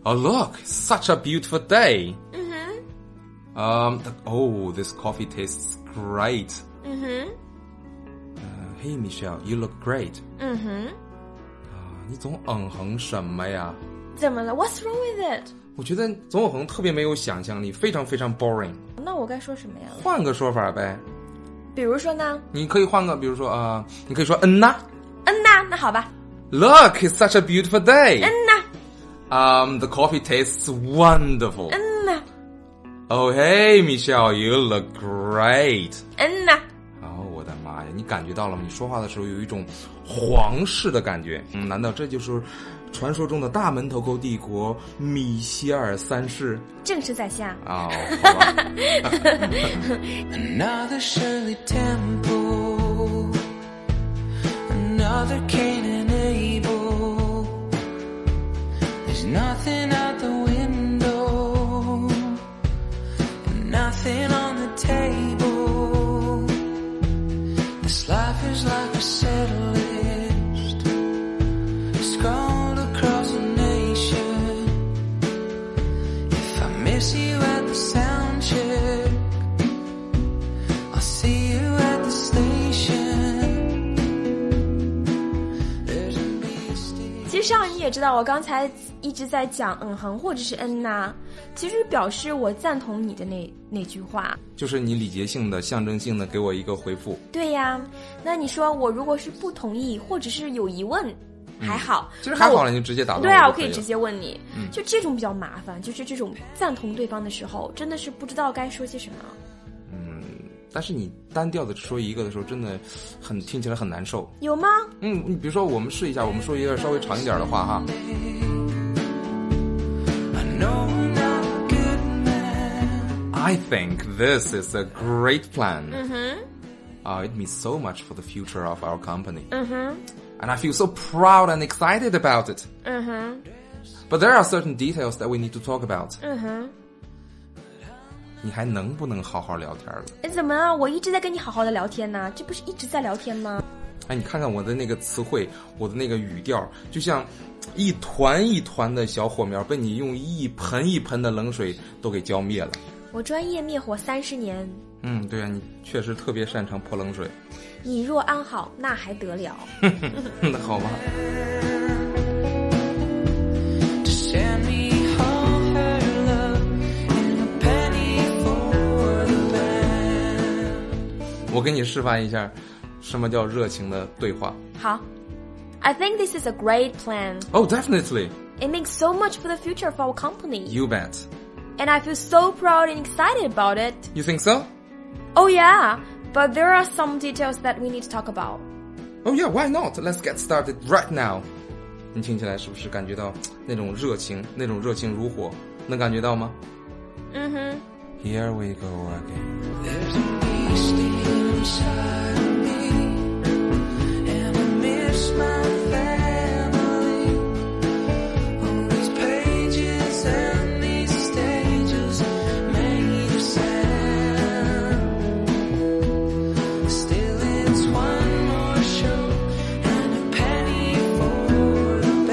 Oh, look, such a beautiful day. Mm-hmm. Oh, this coffee tastes great. Mm-hmm. Hey, Michelle, you look great. Mm-hmm. 你总哼什么呀？ 怎么了 ？What's wrong with it？ 我觉得总哼特别没有想象力，非常非常 boring。 那我该说什么呀？ 换个说法呗。 比如说呢？ 你可以换个，比如说你可以说呐。 那好吧。 Look, it's such a beautiful day. 呐。 The coffee tastes wonderful. 呐。 Oh, hey, Michelle, you look great. 呐。 我的妈呀，你感觉到了吗？你说话的时候有一种皇室的感觉。难道这就是传说中的大门头沟帝国米歇尔三世？ 正是在下。 好吧。 Another Shirley Temple, another Cain and Abel. There's nothing out the window, nothing on the table. This life is like a set list scrawled across the nation. If I miss you at the sound check, I'll see you at the station. There's a beast. 其实上你也知道，我刚才一直在讲哼或者是呐，其实表示我赞同你的那句话。 就是你礼节性的、象征性的给我一个回复。 对呀，那你说我如果是不同意或者是有疑问，还好。 其实还好了，你就直接打断我。 对啊，我可可以直接问你。就这种比较麻烦，就是这种赞同对方的时候，真的是不知道该说些什么。 但是你单调的说一个的时候，真的听起来很难受。 有吗？ 你比如说，我们试一下，我们说一个稍微长一点的话哈。I think this is a great plan. It means so much for the future of our company. And I feel so proud and excited about it. But there are certain details that we need to talk about. 你还能不能好好聊天了？ 怎么了？我一直在跟你好好的聊天呢，这不是一直在聊天吗？ 你看看我的那个词汇，我的那个语调，就像一团一团的小火苗被你用一盆一盆的冷水都给浇灭了。 我专业灭火30年。 对啊，你确实特别擅长泼冷水。 你若安好，那还得了？ 那好吧。我给你示范一下什么叫热情的对话。 好。I think this is a great plan. Oh, definitely. It makes so much for the future of our company. You bet. And I feel so proud and excited about it. You think so? Oh yeah, but there are some details that we need to talk about. Oh yeah, why not? Let's get started right now. 你听起来是不是感觉到那种热情如火？能感觉到吗？Here we go again. There's a beast inside of me, and I miss my family. On these pages and these stages made of sand. Still it's one more show and a penny for the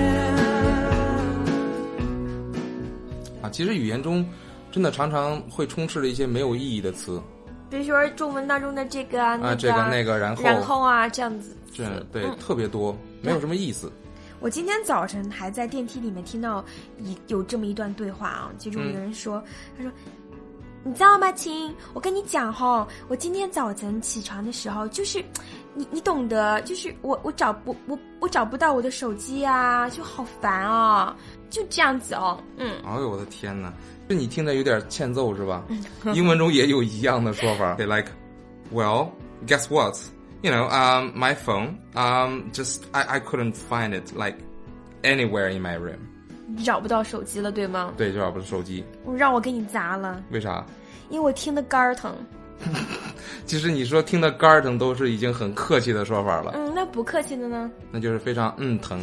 band. 其实语言中真的常常会充斥着一些没有意义的词， 比如说中文当中的这个这个那个，然后啊，这样子。 对，特别多，没有什么意思。 我今天早晨还在电梯里面听到有这么一段对话啊，其中有人说，他说。你知道吗，亲？我跟你讲哈，我今天早晨起床的时候，就是你懂得，就是我找不到我的手机啊，就好烦啊，就这样子哦。 哎呦我的天哪，这你听着有点欠揍是吧？英文中也有一样的说法。Like, well, guess what? You know, my phone, just I couldn't find it like anywhere in my room. 找不到手机了，对吗？ 对，就找不到手机。 让我给你砸了。 为啥？ 因为我听得肝儿疼。 其实你说听得肝儿疼都是已经很客气的说法了。 那不客气的呢？ 那就是非常疼。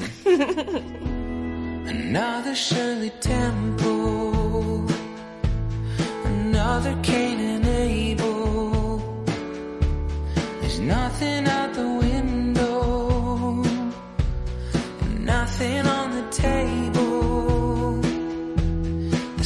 Another Shirley Temple, another Cain and Abel. There's nothing out the window, nothing on the table.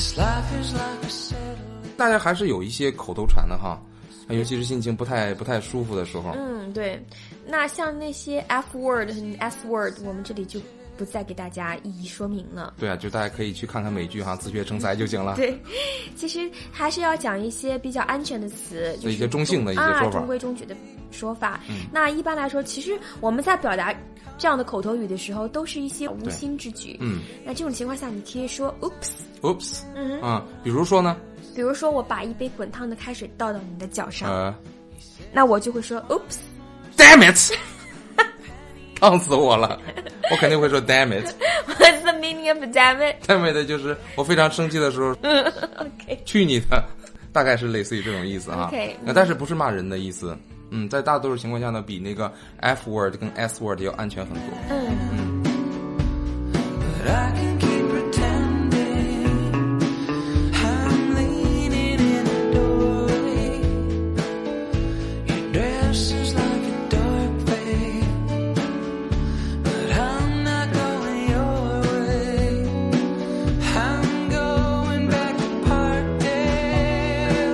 This life is like a settle. 大家还是有一些口头禅的哈，尤其是心情不太舒服的时候。 对。那像那些 F word 和 S word， 我们这里就不再给大家一一说明了。 对啊，就大家可以去看看美剧哈，自学成才就行了。 对，其实还是要讲一些比较安全的词，就是一些中性的一些说法， 中规中矩的说法。那一般来说，其实我们在表达这样的口头语的时候，都是一些无心之举。那这种情况下，你可以说 oops。 比如说呢？ 比如说我把一杯滚烫的开水倒到你的脚上，那我就会说 oops。Damn it！ 烫死我了，我肯定会说 damn it。What's the meaning of damn it？ Damn it 就是我非常生气的时候 OK， 去你的，大概是类似于这种意思啊。 OK， 但是不是骂人的意思。在大多数情况下呢，比那个 F word 跟 S word 要安全很多。 But I can keep pretending I'm leaning in the doorway. Your dress is like a dark fade, but I'm not going your way. I'm going back to Parkdale.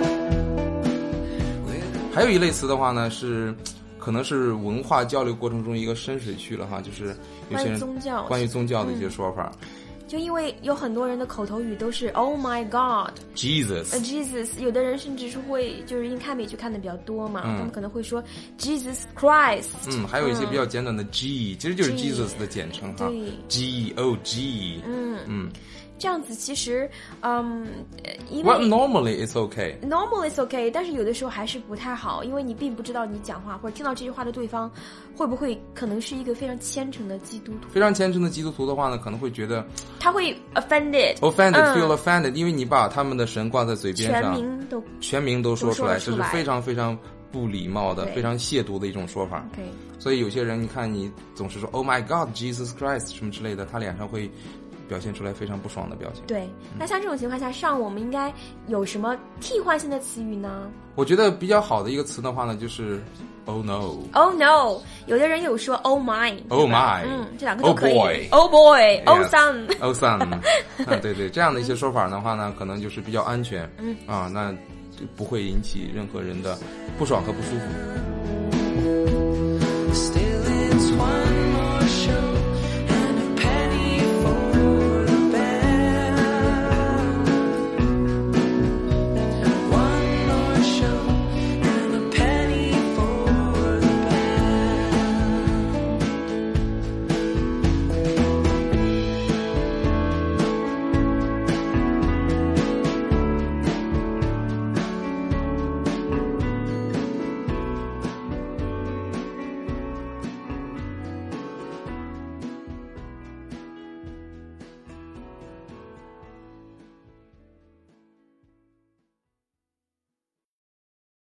还有一类词的话呢，是可能是文化交流过程中一个深水区了哈，就是有些人关于宗教的一些说法。 就因为有很多人的口头语都是 Oh my God、Jesus， 有的人甚至是会就是因为看美剧看的比较多嘛，他们可能会说 Jesus Christ。 还有一些比较简短的 G， 其实就是 Jesus 的简称哈 ，G-O-G。 这样子其实，因为 Well, normally it's okay. Normally it's okay， 但是有的时候还是不太好，因为你并不知道你讲话或者听到这句话的对方会不会可能是一个非常虔诚的基督徒。 非常虔诚的基督徒的话呢，可能会觉得他会 feel offended， 因为你把他们的神挂在嘴边上，全名都说出来，这是非常非常不礼貌的，非常亵渎的一种说法。所以有些人你看你总是说 Oh my God, Jesus Christ 什么之类的，他脸上会表现出来非常不爽的表情。 对，那像这种情况下，上我们应该有什么替换性的词语呢？ 我觉得比较好的一个词的话呢，就是 Oh no。Oh no， 有的人有说 Oh my。Oh my， 这两个都可以。 Oh boy。Oh son。Oh son。对，这样的一些说法的话呢，可能就是比较安全。那不会引起任何人的不爽和不舒服。